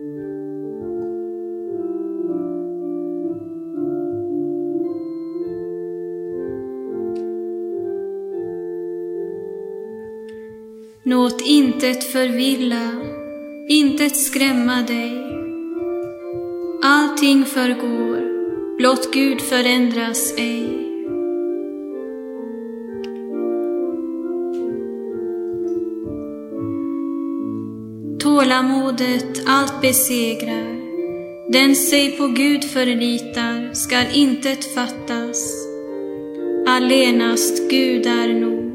Låt intet förvilla, intet skrämma dig. Allting förgår, blott Gud förändras ej. Tålamodet allt besegrar, den sig på Gud förlitar skall intet fattas. Allenast Gud är nog.